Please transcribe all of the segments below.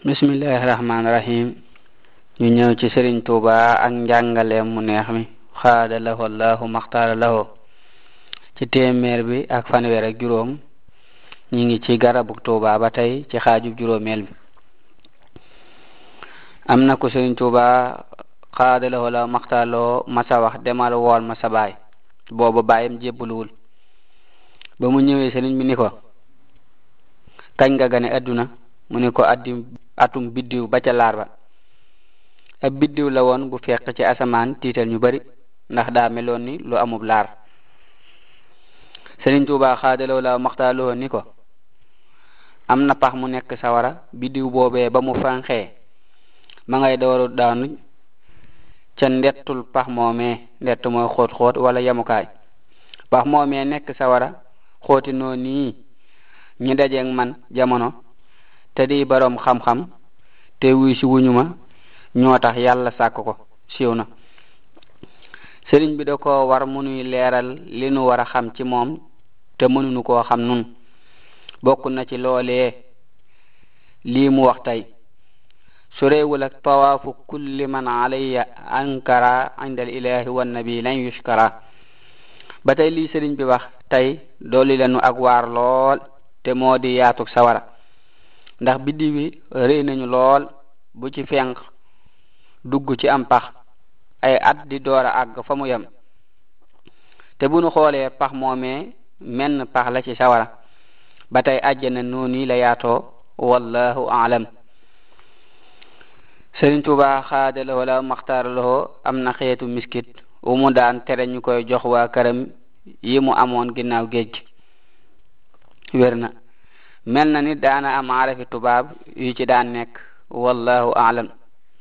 bismillahirrahmanirrahim. ñu ñëw ci Serigne Touba ak njàngaleem mu neex mi xaada lahu allahu maxtaara lahu ci téeméer bi ak fanweer ak juróom. ñi ngi ci garabuk Touba ba tey ci xaajub juróomeel bi. am na ko Serigne Touba xaada lahu allahu maxtaara lahu masa wax demal wool ma sa baay booba baayam jébbaluwul. ba mu ñëwee Serigne bi ni ko kañ nga gane adduna mu ni ko atum biddiw ba ca laar ba. ab biddiw la woon bu fekk ci asamaan tiital ñu bari ndax daa meloon ni lu amub laar. Serigne Touba xaadalaw la maxtaaloo ni ko am na pax mu nekk sawara biddiw boobee ba mu fanxee ma ngay dooru daanu ca ndettul pax moomee ndett mooy xóot xóot wala yamukaay. pax moomee nekk sawara xóoti noo nii ñi dajeeg man jamono te di boroom xam-xam te wuy si wuñu ma ñoo tax yàlla sàkk ko siiw na. sëriñ bi da ko war mu nuy leeral li nu war a xam ci moom te mënuñu koo xam nun. bokk na ci loolee lii mu wax tey sureewul ak tawaafu kulli man alayya ankara indal ilahi wan nabi lan yushkara. ba tey lii sëriñ bi wax tey dooli lenu ak waar lool te moo di yaatuk sawara ndax biddi wi rëy nañu lool bu ci fenk dugg ci am pax ay at di door a àgg fa mu yem. te bu nu xoolee pax moomee menn pax la ci sawara ba tey àjjana noonu la yaatoo wallahu aalam. Serigne Touba xaadalawoo la maxtaaralawoo am na xeetu miskit wu mu daan tere ñu koy jox waa këram yi mu amoon ginnaaw géej wér na mel na ni daana am arafi tubaab yu ci daan nekk wallahu aalam.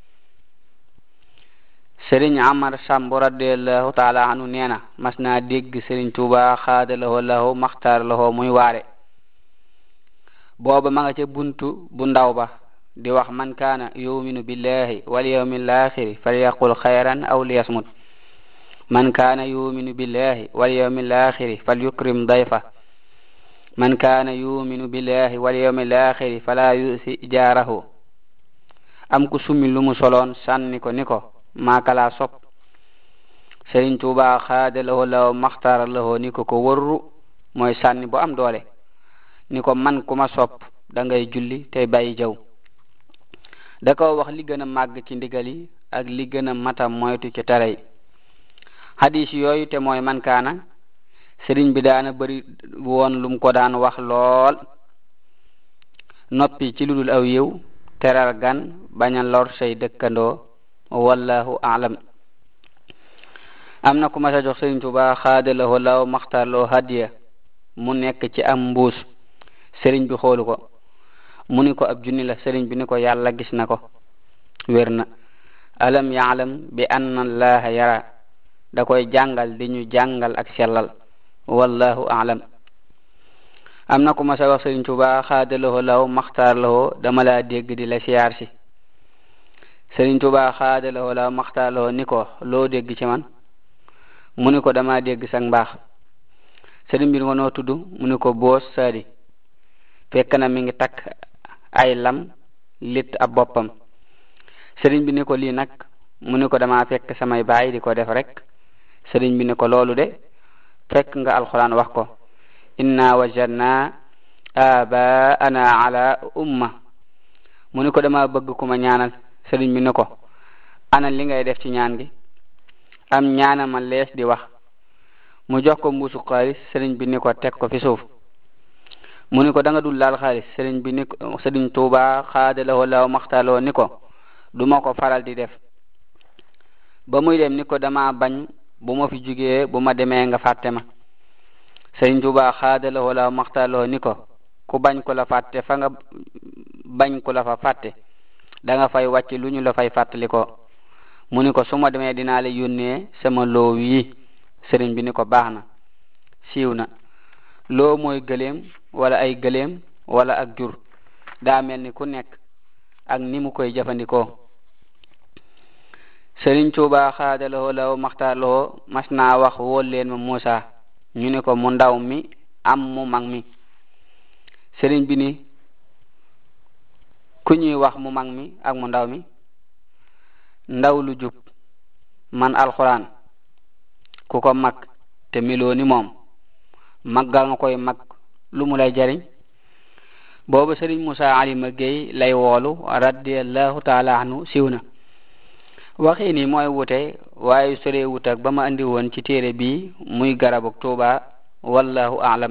Serigne Amar Samb radiyallahu taala anu nee na mas naa dégg Serigne Touba xaadalawoo lahu maxtaaralawoo muy waare. booba ma nga ca buntu bu ndaw ba di wax man kaana yuminu billahi wal yawmil axiri falyaqul xayran aw liyasmut. man kaana yuminu billahi wal yawmil axiri falyukrim dayfa. man kaana yuminu billahi wal yawmil axiri fala yusi jaarahu. am ku summi lu mu soloon sànni ko ni ko maakalaa sopp. Serigne Touba xaadalawoo law maxtaaralawoo ni ko wërru mooy sànni bu am doole ni ko man ku ma sopp da ngay julli tey bàyyi jaw. da ko wax li gën a màgg ci ndigal yi ak li gën a mata moytu ci tere yi. hadis yooyu te mooy man kaana sëriñ bi daana bari woon lum ko daan wax lool. noppi ci ludul aw yiw teral gan bañ a lor say dëkkandoo wallahu aalam. am na ku ma sa jox Serigne Touba xaadalawoo law maxtarloo hadiya mu nekk ci am mbuus. sëriñ bi xoolu ko mu ni ko ab junni la. sëriñ bi ni ko yàlla gis na ko wér na. alam yaalam bi anna allaha yara da koy jàngal di ñu jàngal ak sellal wallahu aalam. am na ku ma sa wax Serigne Touba xaadalawoo law maxtaarlawoo dama laa dégg di la siyaar si. Serigne Touba xaadalawoo law maxtaarlawoo ni ko loo dégg ci man mu ni ko dama dégg sang mbaax. sëriñ bi ni ko noo tudd mu ni ko boos saadi. fekk na mi ngi takk ay lam lit ab boppam. sëriñ bi ni ko lii nag mu ni ko dama fekk samay baay di ko def rek. sëriñ bi ni ko loolu de fekk nga alxuraan wax ko inna wajadna abaana ala umma. mu ni ko dama bëgg ku ma ñaanal. sëriñ bi ni ko ana li ngay def ci ñaan gi. am ñaana ma lees di wax. mu jox ko mbuusu xaalis. sëriñ bi ni ko teg ko fi suuf. mu ni ko da nga dul laal xaalis. sëriñ bi ni ko Serigne Touba xaadalawoo law maxtaaloo ni ko duma ko faral di def. ba muy dem ni ko dama bañ bu ma fi jugee bu ma demee nga fàtte ma. Serigne Touba xaadalawoo law maxtaaloo ni ko ku bañ ko la fàtte fa nga bañ ko la fa fàtte da nga fay wàcc lu ñu la fay fàttali ko. mu ni ko su ma demee dinaa la yónnee sama loo yi. sëriñ bi ni ko baax na siiw na. loo mooy gëléem wala ay gëléem wala ak jur daa mel ni ku nekk ak ni mu koy jëfandikoo. Serigne Touba xaadalawoo law maxtaarlawoo mas naa wax wóol leen ma Muusa ñu ni ko mu ndaw mi am mu mag mi. sëriñ bi ni ku ñuy wax mu mag mi ak mu ndaw mi ndaw lu jub man alquran ku ko mag te meloo ni moom maggal nga koy mag lu mu lay jariñ boobu Sëriñ Musaa Alima Géey lay woolu radiyallahu taala anhu siiw na waxi ni mooy wute waaye sore wut ak ba ma andi woon ci téere bi muy garabuk Tuuba wallahu a'lam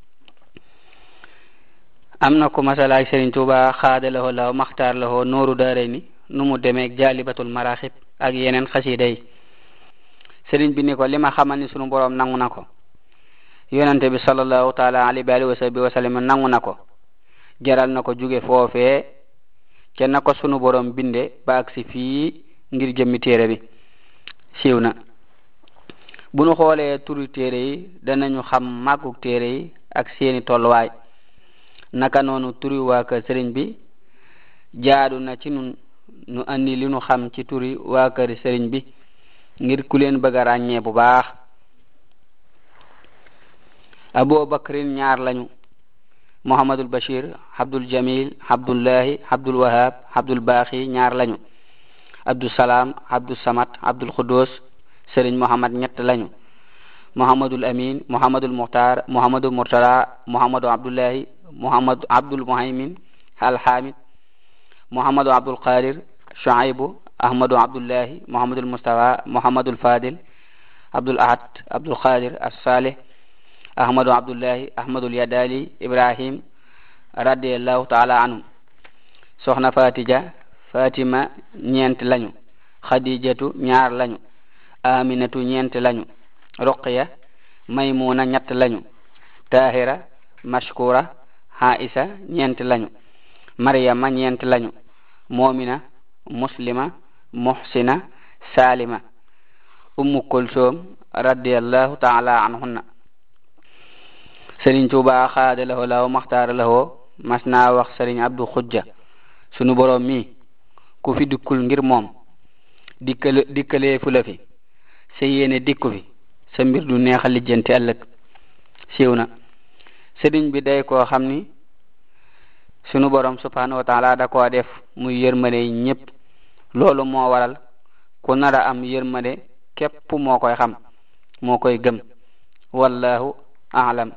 am na ku masalaay Sëriñ Tuuba xaadalahoo law maxtaar lahoo nooru daarayni nu mu demeeg jaalibatul maraxib ak yeneen xasida yi sëriñ bi ni ko li ma xamal ni sunu boroom nangu na ko yonente bi sallallahu taala alayhi wa sahbihi wa sallam nangu na ko jaral na ko jóge foofee ca na ko sunu boroom binde ba ak si fii ngir jëmmi téere bi siiw na bu nu xoolee turu téere yi danañu xam màggug téere yi ak seeni tolluwaay naka noonu turi waa kër sëriñ bi jaadu na ci nun nu andi li nu xam ci turi waa kër sëriñ bi ngir ku leen bëgg a ràññee bu baax Abu Bakrin ñaar lañu Muhammadul Bashir Abdul Jamil Abdullahi Abdul Wahab Abdul Baaxi ñaar lañu Abdul Salaam Abdul Samad Abdul Xudus Sëriñ Muhammad ñett lañu Muhammadul Amin Muhammadul Muxtaar Muhammadul Murtala Muhammadu Abdullahi Muhammad Abdul Muhaymin Alhamid Muhammadu Abdul Qadir Shuaybu Ahmadu Abdullahi Muhammadul Mustafa Muhammadul Fadil Abdul Ahad Abdul Qadir As-Salih Ahmadu Abdullahi Ahmadul Yadali Ibrahim radiyallahu ta'ala anhu soxna Fatija Fatima ñeent lañu Khadijatu ñaar lañu Aminatu ñeent lañu Ruqya Maymuna ñett lañu Tahira Mashkura Aisha ñeent lañu Maryama ñeent lañu Mu'mina Muslima Muhsina Salima Ummu Kulsum radiyallahu ta'ala anhunna Sëriñ Tuuba xaadalahoo law maxtaara lahoo mas naa wax Sëriñ Abdu Xujja sunu boroom mi ku fi dikkul ngir moom dikkalee fu la fi sa yéene dikku fi sa mbir du neex a lijjanti ëllëg siiw na sëriñ bi day koo xam ni sunu boroom subhanahu wa taala da koo def muy yërmande ñépp loolu moo waral ku nara am yërmande képp moo koy xam moo koy gëm wallahu a'lam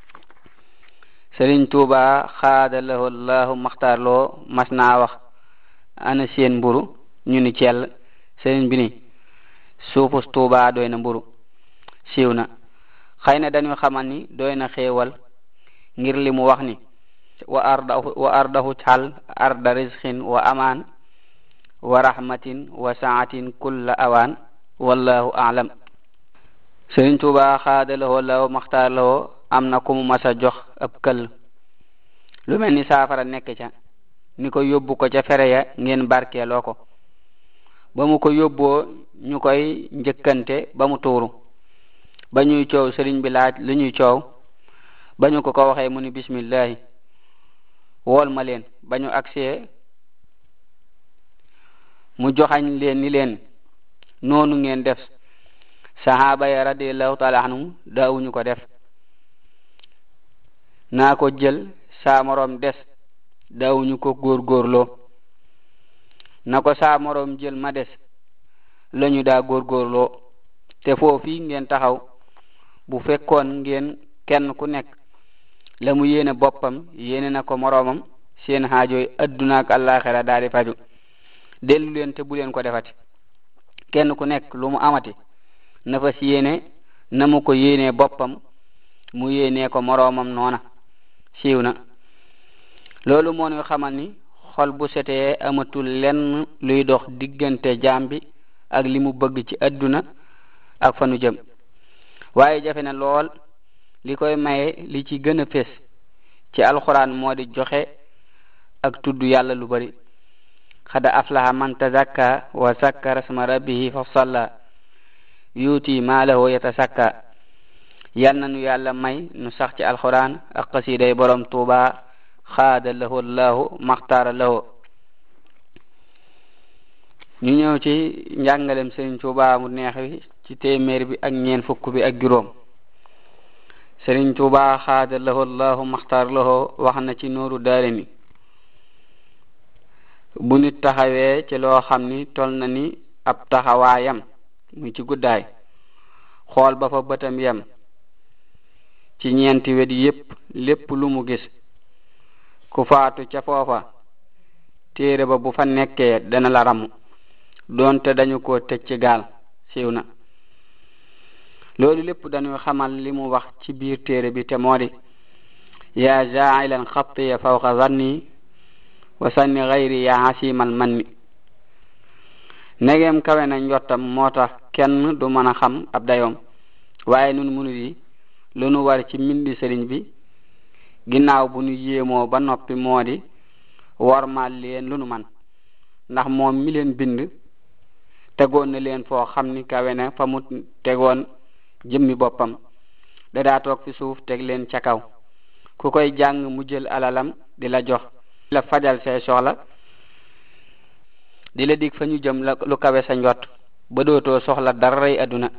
Sëriñ Tuuba xaadalahoo allahu maxtaar loo mas naa wax ana seen mburu ñu ni cell sëriñ bi ni suufus Tuuba doy na mburu siiw na xëy na dañu xamal ni doy na xéewal ngir li mu wax ni wa ardahu xal arda rizqin wa amaan wa rahmatin wa saatin kulla awaan wallahu a'lam Sëriñ Tuuba xaadalahoo allahu maxtaar loo am na ku mu masa jox ab këll lu mel ni saafara nekk ca ni ko yóbbu ko ca fere ya ngeen barkeeloo ko ba mu ko yóbboo ñu koy njëkkante ba mu tuuru ba ñuy coow sëriñ bi laaj lu ñuy coow ba ñu ko waxee mu ni bismillahi wool ma leen ba ñu agsee mu joxañ leen ni leen noonu ngeen def sahaaba ya radiyallahu ta'ala anhum daawuñu ko def naa ko jël saa moroom des daawuñu ko góorgóorloo na ko saa moroom jël ma des lañu daa góorgóorloo te foofi ngeen taxaw bu fekkoon ngeen kenn ku nekk la mu yéene boppam yéene na ko moroomam seen xaajooy adduna ak àllaaxira daal di faju dellu leen te bu leen ko defati kenn ku nekk lu mu amati na fa si yéene na mu ko yéenee boppam mu yéenee ko moroomam noona siiw na loolu moo ñu xamal ni xol bu setee amatul lenn luy dox diggante jaam bi ak li mu bëgg ci adduna ak fa nu jëm waaye jafe na lool li koy maye li ci gën a fés ci alxuraan moo di joxe ak tudd yàlla lu bari xada aflaha man tazakka wa zakkara isma rabbihi fa salla yuuti maalahu yatasakka yal na nu yàlla may nu sax ci alxuraan ak xasiiday borom Tuuba xaada lahu allahu maxtaara lahu ñu ñëw ci njàngalem Sëriñ Tuuba mu neex wi ci téeméer bi ak ñeen fukk bi ak juróom Sëriñ Tuuba xaada lahu allahu maxtaara lahu wax na ci Nuuru Daarayni bu nit taxawee ci loo xam ni tol na ni ab taxawaayam muy ci guddaay xool ba fa bëtam yem ci ñeenti wet yépp lépp lu mu gis ku faatu ca foofa téere ba bu fa nekkee dana la ramu doonte dañu ko tëj ci gaal siiw na loolu lépp dañuy xamal li mu wax ci biir téere bi te moo di yaa jaa'ilan xattiya fawqa zanni wa sanni gayri yaa hasimal manni negeem kawe na njottam moo tax kenn du mën a xam ab dayoom waaye nun munu yi lu nu war ci mbindi sëriñ bi ginnaaw bu nu yéemoo ba noppi moo di wormaal leen lu nu man ndax moom mi leen bind tegoon na leen foo xam ni kawe na fa mu tegoon jëmmi boppam dadaa toog fi suuf teg leen ca kaw ku koy jàng mu jël alalam di la jox di la fajal say soxla di la dig fa ñu jëm lu kawe sa njot ba dootoo soxla daray àdduna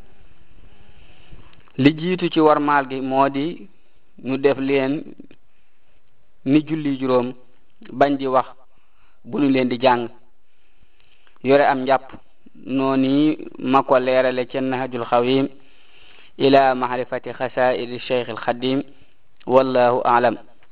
li jiitu ci warmaal gi moo di ñu def leen ni julli juróom bañ di wax bu ñu leen di jàng yore am njàpp noonu ma ko leerale ci Nahjul Xawim ila mahrifati xasaa'idi Cheikh al Xadim wallahu a'lam.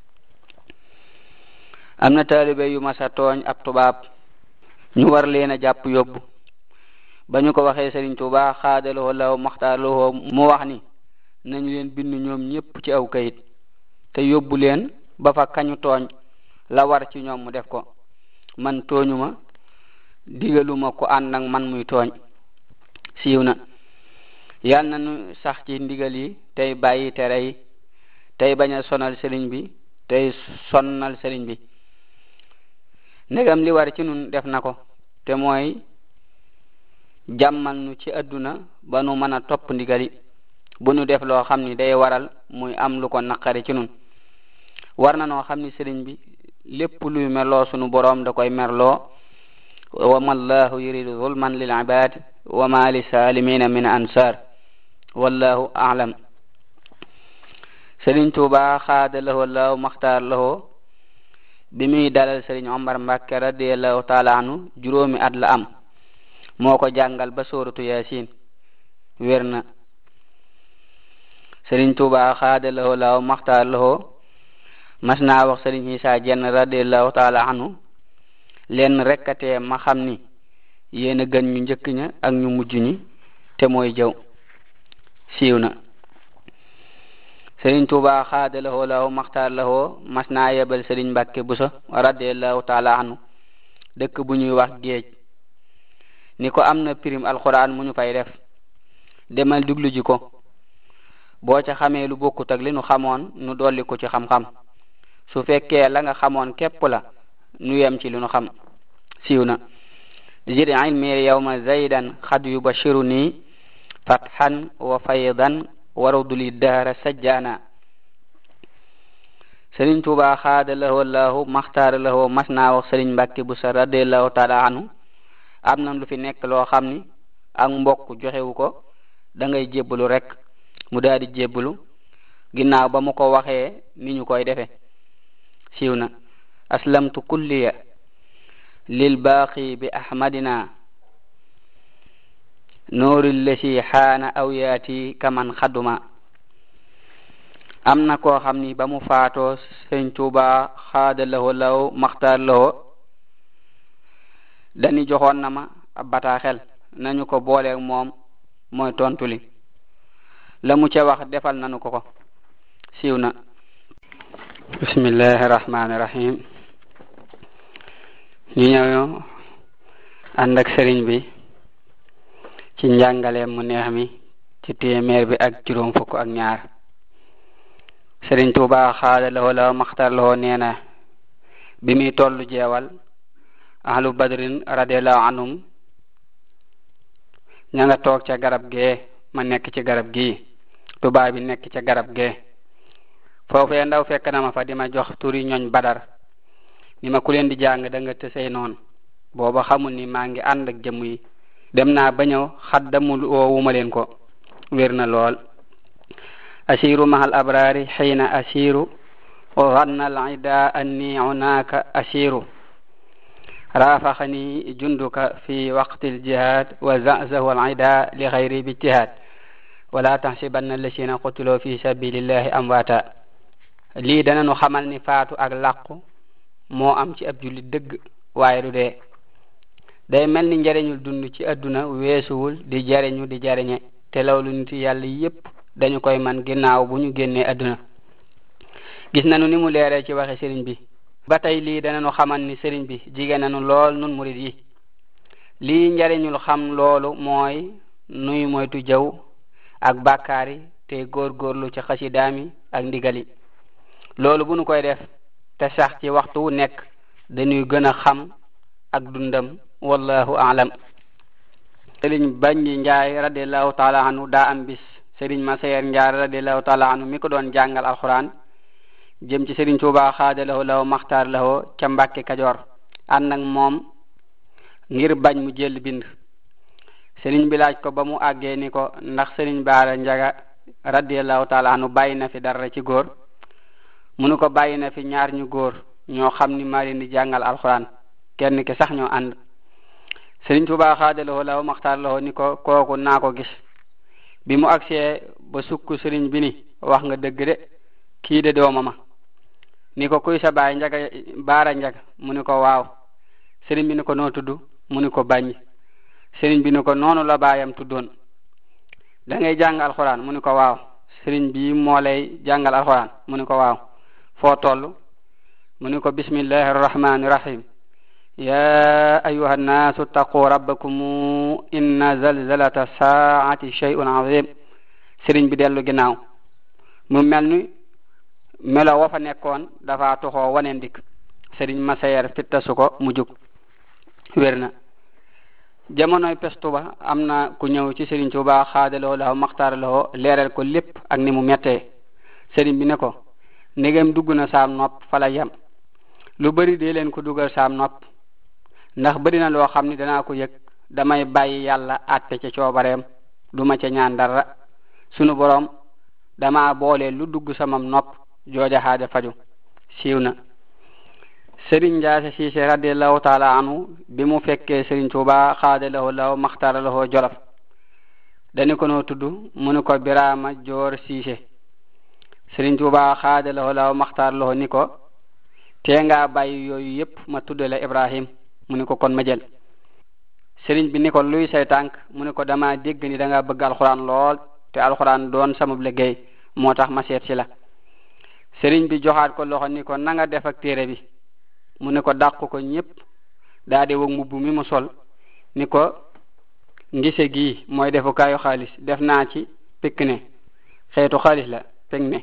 am na taalibe yu masa tooñ ab tubaab ñu war leen a jàpp yóbbu ba ñu ko waxee Sëriñ Tuubaa xaadaloo law maxtaarloo mu wax ni nañu leen bind ñoom ñépp ci aw kayit te yóbbu leen ba fa kañu tooñ la war ci ñoom mu def ko man tooñuma digaluma ko ànd ak man muy tooñ siiw na. yal na nu sax ci ndigal yi tey bàyyi tere yi tey bañ a sonal sëriñ bi tey sonnal sëriñ bi ndegam li war ci nun def na ko te mooy jàmmal nu ci adduna ba nu mën a topp ndigal yi bu nu def loo xam ni day waral muy am lu ko naqari ci nun war na noo xam ni sëriñ bi lépp luy merloo sunu boroom da koy merloo wa mallahu yuridu zulman lil ibad wa ma li salimina min ansar wallahu a'lam. Sëriñ Tuubaa xaada lahu law maxtaar lahu bi muy dalal Sëriñ Omar Mbàkke radiyallahu taala anhu juróomi at la am moo ko jàngal ba sooratu Yaasin wér na. Sëriñ Tuubaa xaada lahu law maxtaar lahu mas naa wax Sëriñ Isaa Jenn radiyallahu taala anhu leen rekkatee ma xam ni yéen a gën ñu njëkk ña ak ñu mujj ñi te mooy jëw siiw na. Sëriñ Tuubaa xaada lahu law maxtaar lahu mas naa yebal Sëriñ Mbàkke Buso radiyallahu taala anhu dëkk bu ñuy wax géej ni ko am na pirim alxuraan mu ñu fay def demal duglu ji ko boo ca xamee lu bokkut ak li nu xamoon nu dolli ko ci xam-xam su fekkee la nga xamoon képp la nu yem ci li nu xam siiw na. zid ilmi yawma zaydan xad yubashiruni fathan wa faydan waruduli dahra sajjana. Sëriñ Tuubaa xaada lahu allahu maxtaar lahu mas naa wax Sëriñ Mbàkke Buso radiyallahu taala anhu am na lu fi nekk loo xam ni ak mbokk joxewu ko da ngay jébbalu rek mu daal di jébbalu ginnaaw ba mu ko waxee ni ñu koy defe siiw na. aslamtu kulliya lil baaqi bi ahmadina nuuril lasi xaana aw yaati kaman xaduma. am na koo xam ni ba mu faatoo Sëriñ Tuubaa xaada lahu law maxtaar lahu dani joxoon na ma ab bataaxel nañu ko booleeg moom mooy tontu li la mu ca wax defal nañu ko siiw na. bismillahi rahmaani rahim. ñu ñëw ànd ak sëriñ bi ci njàngaleem mu neex mi ci téeméer bi ak juróom fukk ak ñaar. Sëriñ Tuubaa xaada lahu law maxtaar lahu nee na bi muy tollu jeewal ahlu badrin radiyallahu anhum ña nga toog ca garab gee ma nekk ci garab gii tubaab bi nekk ca garab gee foofee ndaw fekk na ma fa di ma jox turi ñooñ badar ni ma ku leen di jàng da nga tësey noonu booba xamul ni maa ngi ànd ak jëmm yi dem naa ba ñëw xaddamul woowuma leen ko wér na lool. asiru mahal abrari xiina asiru wa ganna al ida anni hunaka asiru رافقني جندك في وقت الجهاد وزعزه العداء لغير باجتهاد ولا تحسبن الذين قتلوا في سبيل الله أمواتا lii dana nu xamal ni faatu ak làqu moo am ci ab jullit dëgg waaye du dee day mel ni njariñul dund ci adduna weesuwul di jariñu di jariñe te loolu nit yàlla yépp dañu koy man ginnaaw bu ñu génnee adduna gis nañu ni mu leeree ci waxe sëriñ bi ba tey lii dana nu xamal ni sëriñ bi jigéen nañu lool nun murid yi lii njariñul xam loolu mooy nuy moytu jëw ak bàkkaari te góorgóorlu ci xasidaami ak ndigali loolu bu nu koy def te sax ci waxtu wu nekk dañuy gën a xam ak dundam wallahu a'lam. Sëriñ Baññi Njaay radiyallahu taala anhu daa am bis Sëriñ Masayer Njaay radiyallahu taala anhu mi ko doon jàngal alquran jëm ci Sëriñ Tuubaa xaadalahu lahu maxtaar lahu ca Mbàkke Kajoor ànd ak moom ngir bañ mu jël bind. Sëriñ bi laaj ko ba mu àggee ni ko ndax Sëriñ Baara Njaga radiyallahu taala anhu bàyyi na fi dara ci góor mu ne ko bàyyi na fi ñaar ñu góor ñoo xam ni maa leen di jàngal alquran kenn ki sax ñoo ànd. Sëriñ Tuubaa xaadalahu lahu maxtaar lahu ni ko kooku naa ko gis bi mu agsee ba sukk sëriñ bi ni wax nga dëgg de kii de doomama ni ko kuy sa baay Njaga Baara Njaga mu ni ko waaw. Sëriñ bi ni ko noo tudd mu ni ko Baññi. Sëriñ bi ni ko noonu la baayam tuddoon. da ngay jàng alxuraan mu ni ko waaw. Sëriñ bi moo lay jàngal alxuraan mu ni ko waaw. foo toll mu ni ko bismillahi arrahmani rahim ya ayuha annaasu taqu rabbakum inna zalzalata saati shay'un azim. Sëriñ bi dellu ginnaaw mu mel ni melo wa fa nekkoon dafa toxoo waneen dikk. Sëriñ Masayer fittasu ko mu jug wér na. jamonoy pestu ba am na ku ñëw ci Sëriñ Tuubaa xaadaloo lahu maxtaar lahu leeral ko lépp ak ni mu mettee. sëriñ bi ne ko ndegem dugg na saam nopp fa la yem lu bari dee leen ko dugal saam nopp ndax bari na loo xam ni danaa ko yëg damay bàyyi yàlla àtte ca coobareem duma ca ñaan dara sunu boroom dama boole lu dugg samam nopp jooja xaade faju siiw na. Sëriñ Njaase Siise radiyallahu taala anhu bi mu fekkee Sëriñ Tuubaa xaadalahu lahu maxtaara lahu Jolof dañu ko noo tudd mu ni ko Biraama Joor Siise. Sëriñ Tuubaa xaadalahu lahu maxtaar lahu ni ko tee nga bàyyi yooyu yépp ma tuddale Ibrahim mu ni ko kon ma jël. Sëriñ bi ni ko luy say tànk mu ni ko dama dégg ni da nga bëgg alxuraan lool te alxuraan doon sama liggéey moo tax ma seet ci la. Sëriñ bi joxaat ko loxo ni ko na nga def ak téere bi mu ni ko dàq ko ñépp daa di wëg mbubb mi mu sol ni ko ngise gii mooy defukaayu xaalis def naa ci pikk ne xeetu xaalis la pek ne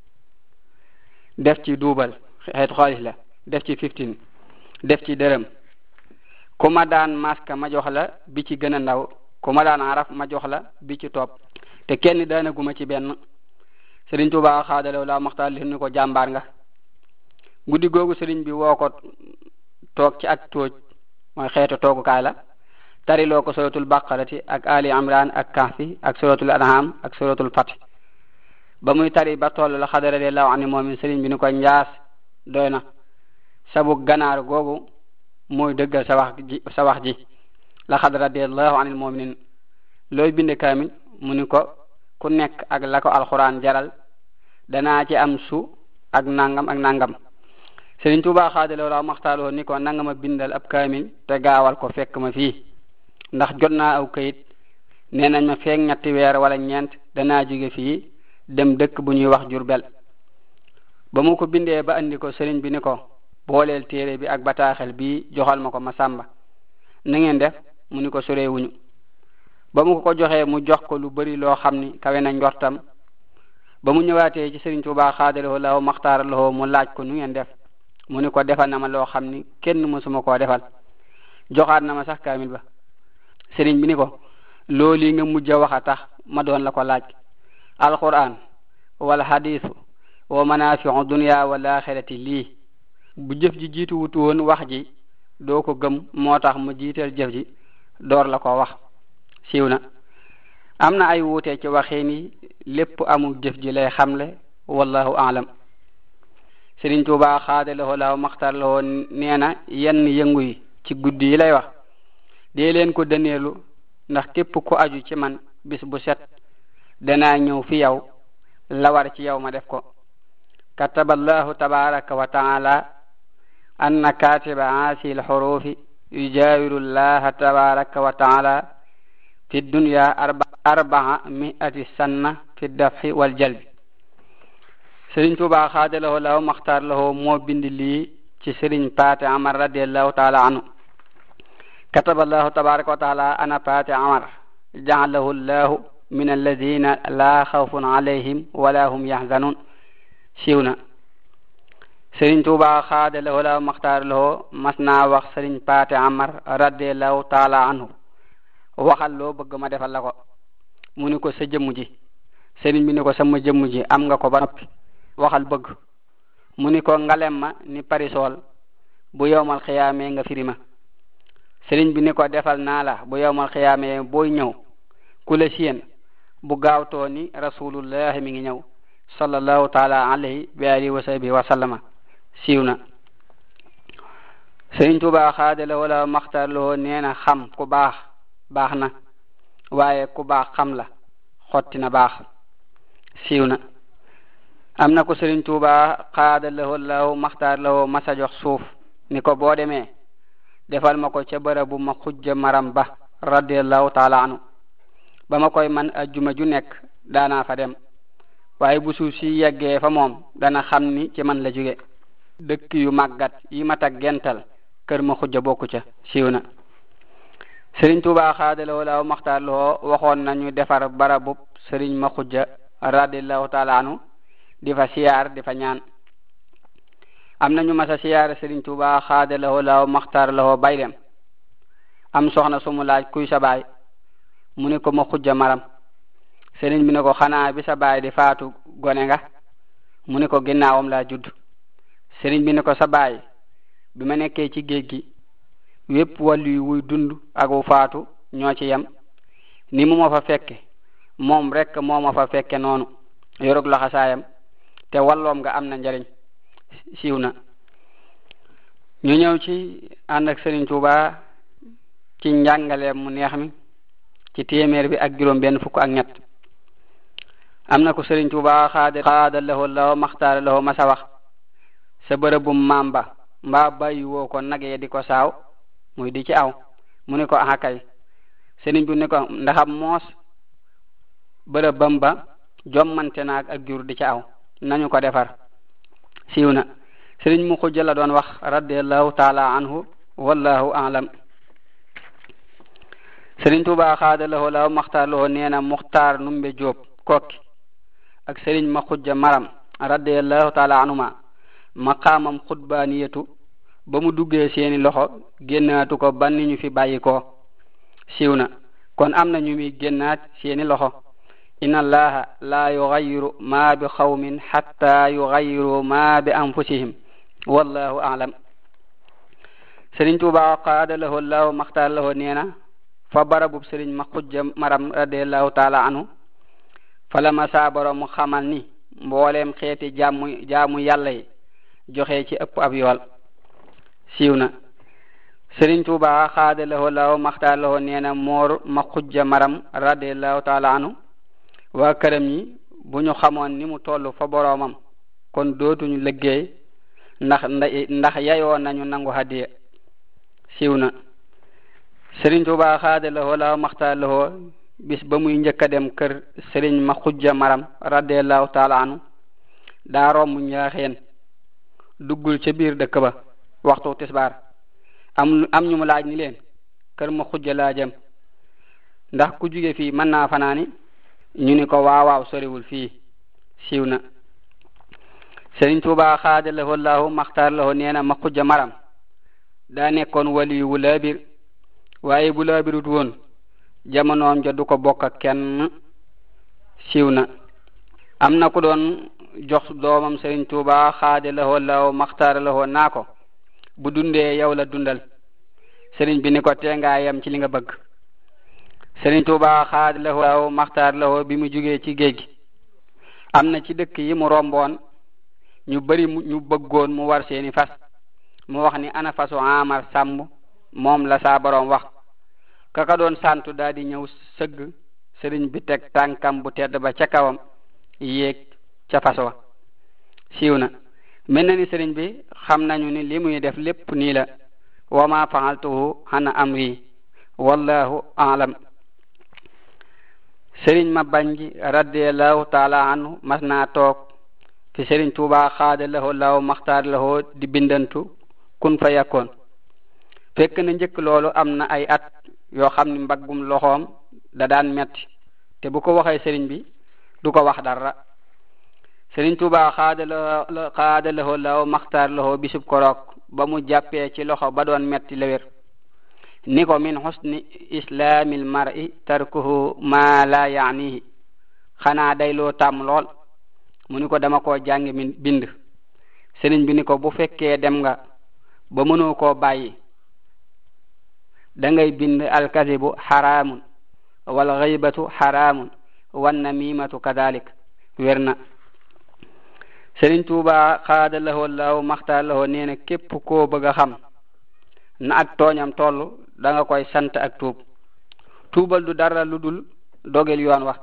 def ci duubal xeetu xaalis la def ci 15 def ci dërëm ku ma daan maska ma jox la bi ci gën a ndaw ku ma daan araf ma jox la bi ci topp te kenn daanaguma ci benn. Sëriñ Tuubaa xaadalaw la maxtaar li ni ko jàmbaar nga. guddi googu sëriñ bi woo ko toog ci ak tooj mooy xeetu toogukaay la tariloo ko suratul baqarati ak ali imran ak kahfi ak suratul an'am ak suratul fath ba muy tari ba toll la xadara radiyallahu anhu moom sëriñ bi ni ko njaas doy na sabu ganaar googu mooy dëggal sa wax ji la xadara radiyallahu anil mu'minin looy binde kaamil mu ni ko ku nekk ak la ko alxuraan jaral danaa ci am su ak nangam ak nangam. Sëriñ Tuubaa xaadalaw la maxtaaloo ni ko nanga ma bindal ab kaamil te gaawal ko fekk ma fii ndax jot naa aw kayit nee nañ ma feek 3 weer wala 4 danaa jóge fii dem dëkk bu ñuy wax Jurbel. ba mu ko bindee ba andi ko sëriñ bi ni ko booleel téere bi ak bataaxel bi joxal ma ko ma sàmba na ngeen def mu ni ko sorewuñu. ba mu ko joxee mu jox ko lu bari loo xam ni kawe na njortam. ba mu ñëwaatee ci Sëriñ Tuubaa xaadalaw la maxtaar lahu mu laaj ko nu ngeen def mu ni ko defal na ma loo xam ni kenn mësuma koo defal joxaat na ma sax kaamil ba. sëriñ bi ni ko loolu nga mujj a wax a tax ma doon la ko laaj alquran wala hadisu wa manafi'u dunya wal akhirati lii bu jëf ji jiitu wutu woon wax ji doo ko gëm moo tax mu jiital jëf ji door la ko wax. siiw na am na ay wuute ci waxee ni lépp amul jëf ji lay xamle wallahu a'lam. Sëriñ Tuubaa xaadalaw la maxtaar lahu nee na yenn yëngu yi ci guddi yi lay wax dee leen ko dëneelu ndax képp ku aju ci man bis bu set danaa ñëw fi yow la war ci yow ma def ko kataballahu tabaraka wa taala anna katiba haasi alxurufi yujawiru llaha tabaraka wa taala fi dunya 400 sanna fi dafhi wal jalbi Sëriñ Tuubaa xaadalahu law maxtaar lahu moo bind lii ci Sëriñ Paate Amar radiyallahu taala anhu kataballahu tabaraka wa taala ana Paate Amar ja'alahu llahu min alladina la xawfun alayhim wala hum yahzanun siiw na Sëriñ Tuubaa xaadalahu law maxtaar lahu mas naa wax Sëriñ Paate Amar radiyallahu taala anhu waxal loo bëgg ma defal la ko mu ni ko sa jëmm ji sëriñ bi ni ko sama jëmm ji am nga ko ba noppi waxal bëgg mu ni ko ngalem ma ni parisol bu yowmal xiyaamee nga firima sëriñ bi ni ko defal naa la bu yowmal xiyaamee booy ñëw ku la siyeen bu gaawtoo ni rasulullahi mi ngi ñëw sallallahu taala alayhi wa alihi wa sahbihi wa sallama siiw na Sëriñ Tuubaa xaadala wala maxtar loo nee na xam ku baax na waaye ku baax xam la xotti na baax siiw na am na ko Sëriñ Tuubaa xaadala wala maxtar loo masa jox suuf ni ko boo demee defal ma ko ca bërëbu ma xujja maram ba radiyallahu taala anu ba ma koy man ajjuma ju nekk daanaa fa dem waaye bu suuf si yeggee fa moom dana xam ni ci man la jóge dëkk yu màggat yi ma tag gental kër ma xujja bokku ca siiw na Sëriñ Tuubaa xaadaloo law maxtaar loo waxoon nañu defar barabub Sëriñ ma xujja radiyallahu taala anu di fa siyaar di fa ñaan am nañu masa siyaar Sëriñ Tuubaa xaadaloo law maxtaar loo bay dem am soxna sumu laaj kuy sa baay mu ni ko ma xujja maram sëriñ bi ne ko xanaa bi sa baay di faatu gone nga mu ni ko ginnaawam laa judd sëriñ bi ne ko sa baay bi ma nekkee ci géej gi wépp wàllu yu wuy dund ak wu faatu ñoo ci yem ni mu ma fa fekke moom rek moo ma fa fekke noonu yorug laxasaayam te walloom nga am na njariñ siiw na ñu ñëw ci ànd ak Sëriñ Tuubaa ci njàngaleem mu neex mi ci téeméer bi ak juróom benn fukk ak ñett am na ko Sëriñ Tuubaa xaada lahu law maxtaara lahu masa wax sa bërëbum maam ba mbaa bàyyi woo ko nag ye di ko saaw muy di ci aw mu ni ko aha kay sëriñ bi ni ko ndaxam moos bërëbam ba jommante naag ak jur di ci aw nañu ko defar siiw na sëriñ mu xujja la doon wax radiyallahu taala anhu wallahu a'lam Sëriñ Tuubaa xaada lahu law maxtaar lahu nee na Muxtaar Numbe Jóob kokki ak sëriñ ma xujja maram radiyallahu taala anhuma maqaamam xutbaaniyatu ba mu duggee seeni loxo génnaatu ko ban ni ñu fi bàyyi ko siiw na kon am na ñu muy génnaat seeni loxo inna allaha la yughayyiru ma bi xawmin hatta yughayyiru ma bi anfusihim wallahu a'lam Sëriñ Tuubaa qaada lahu law maxtaar lahu nee na fa barabub sëriñ ma xujja maram radiyallahu taala anhu fala ma saa borom mu xamal ni mbooleem xeeti jaamu yàlla yi joxe ci ëpp ab yool siiw na Sëriñ Tuubaa xaada lahu law maxtaar lahu nee na moor ma xujja maram radiyallahu taala anhu waa këram yi bu ñu xamoon ni mu toll fa boroomam kon dootuñu liggéey ndax yayoo nañu nangu hadiya siiw na Sëriñ Tuubaa xaada lahu law maxtaar lahu bis ba muy njëkk a dem kër Sëriñ ma xujja maram radiyallahu taala anhu daa romb Njaaxeen duggul ca biir dëkk ba waxtu tisbaar am ñu mu laaj ni leen kër ma xujja laa jëm ndax ku jóge fii mën naa fanaani ñu ni ko waawaaw soriwul fii siiw na Sëriñ Tuubaa xaada lahu law maxtaar lahu nee na ma xujja maram daa nekkoon waliyu wu laabir waaye bu laabirut woon jamonoom ja du ko bokk ak kenn siiw na am na ku doon jox doomam Sëriñ Tuubaa xaada lahu law maxtaar lahu naa ko bu dundee yow la dundal sëriñ bi ni ko teengaa yam ci li nga bëgg Sëriñ Tuubaa xaada lahu law maxtaar lahu bi mu jógee ci géej gi am na ci dëkk yi mu romboon ñu bari ñu bëggoon mu war seeni fas mu wax ni ana fasu Amar Sàmb moom la saa borom wax kaka doon santu daal di ñëw sëgg sëriñ bi teg tànkam bu tedd ba ca kawam yéeg ca fas wa siiw na mel na ni sëriñ bi xam nañu ni li muy def lépp nii la wa ma fa'altuhu an amri wallahu a'lam. sëriñ ma banji radiyallahu taala anhu mas naa toog fi sëriñ Tuubaa xaada lahu law maxtaar lahu di bindantu kun fa yakkoon fekk na njëkk loolu am na ay at yoo xam ni mbaggum loxoom da daan metti te bu ko waxee sëriñ bi du ko wax dara. sëriñ Tuubaa xaada lahu law maxtaar lahu bisub koroog ba mu jàppee ci loxo ba doon metti lewér ni ko min husni islamil mar'i tarkuhu ma la yaanihi xanaa day loo tàmm lool mu ni ko dama koo jàngi min bind. sëriñ bi ni ko bu fekkee dem nga ba mënoo koo bàyyi da ngay bind alkazibu haramun wal ghaybatu haramun wan namimatu kadalik wér na. sëriñ Tuubaa xaada lahoo law maxtaar lahoo nee na képp koo bëgg a xam na ak tooñam toll da nga koy sant ak tuub. tuubal du dara lu dul dogel yoon wax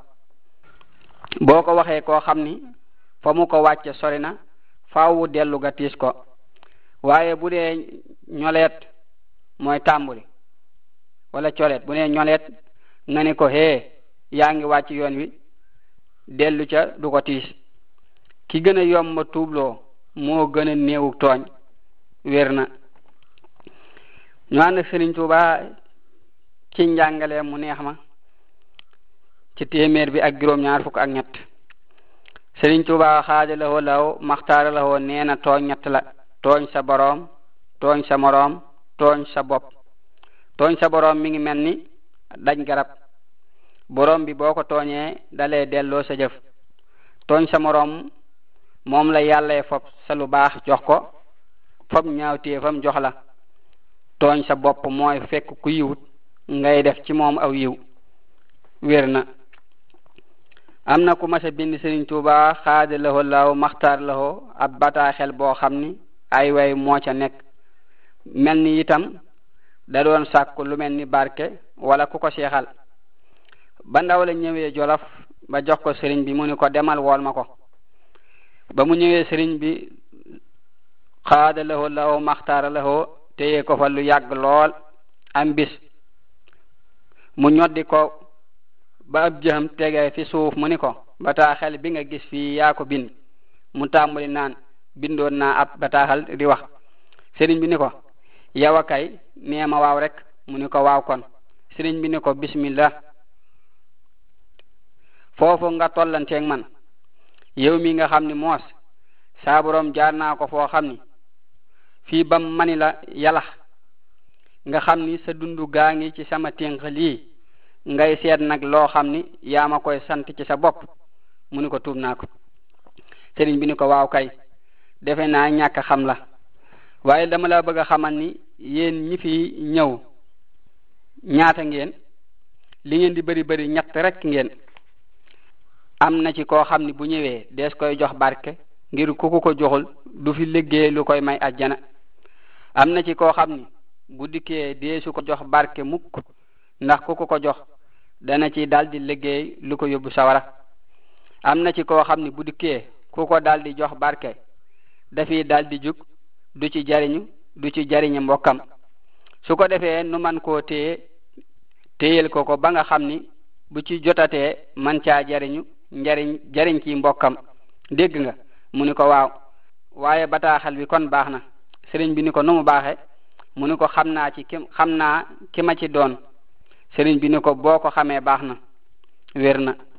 boo ko waxee koo xam ni fa mu ko wàcce sori na faawu dellu ga tiis ko waaye bu dee ñoleet mooy tàmbuli wala coleet bu dee ñoleet nga ni ko hee yaa ngi wàcc yoon wi dellu ca du ko tiis. ki gën a yomb tuubloo moo gën a néewu tooñ wér na. ñu ànd ak Sëriñ Tuubaa ci njàngale mu neex ma ci téeméer bi ak juróom-ñaar fukk ak ñett. Sëriñ Tuubaa xaada lahoo law maxtaara lahoo nee na tooñ ñett la: tooñ sa boroom, tooñ sa moroom, tooñ sa bopp. tooñ sa boroom mi ngi mel ni daj garab, boroom bi boo ko tooñee dalee delloo sa jëf. tooñ sa moroom moom la yàlla fob sa lu baax jox ko, fob ñaawteefam jox la. tooñ sa bopp mooy fekk ku yiwut ngay def ci moom aw yiw wér na. am na ku mas a bind Sëriñ Tuubaa xaada lahoo law maxtaar lahoo ab bataaxel boo xam ni ay way moo ca nekk, mel ni itam da doon sàkku lu mel ni barke wala ku ko seexal. ba ndaw la ñëwee Jolof ba jox ko sëriñ bi mu ni ko demal wool ma ko. ba mu ñëwee sëriñ bi xaada lahoo law maxtaar lahoo téye ko fa lu yàgg lool. am bis mu ñoddi ko ba ab jëm tegee fi suuf mu ni ko bataaxel bi nga gis fii yaa ko bind. mu tàmbali naan bindoon naa ab bataaxal di wax. sëriñ bi ni ko yow a kay nee ma waaw rek. mu ni ko waaw kon. sëriñ bi ni ko bismillah. foofu nga tollanteeg man yow mi nga xam ni moos saa borom jaar naa ko foo xam ni fii bam mani la yalax nga xam ni sa dundu gaa ngi ci sama ténk lii ngay seet nag loo xam ni yaa ma koy sant ci sa bopp. mu ni ko tuub naa ko. sëriñ bi ni ko waaw kay defe naa ñàkk xam la, waaye dama la bëgg a xamal ni yéen ñi fi ñëw ñaata ngeen, li ngeen di bari bari ñett rek ngeen. am na ci koo xam ni bu ñëwee dees koy jox barke ngir ku ko joxul du fi liggéey lu koy may ajjana. am na ci koo xam ni bu dikkee deesu ko jox barke mukk ndax ku ko jox dana ci daldi liggéey lu ko yóbbu sawara. am na ci koo xam ni bu dikkee ku ko daldi jox barke dafiy daldi jug du ci jariñu du ci jariñu mbokkam. su ko defee nu man koo téyel ko ba nga xam ni bu ci jotatee man caa jariñu jariñ ci mbokkam. dégg nga? mu ni ko waaw. waaye bataaxal bi kon baax na. sëriñ bi ni ko nu mu baaxe? mu ni ko xam naa ki ma ci doon. sëriñ bi ni ko boo ko xamee baax na. wér na.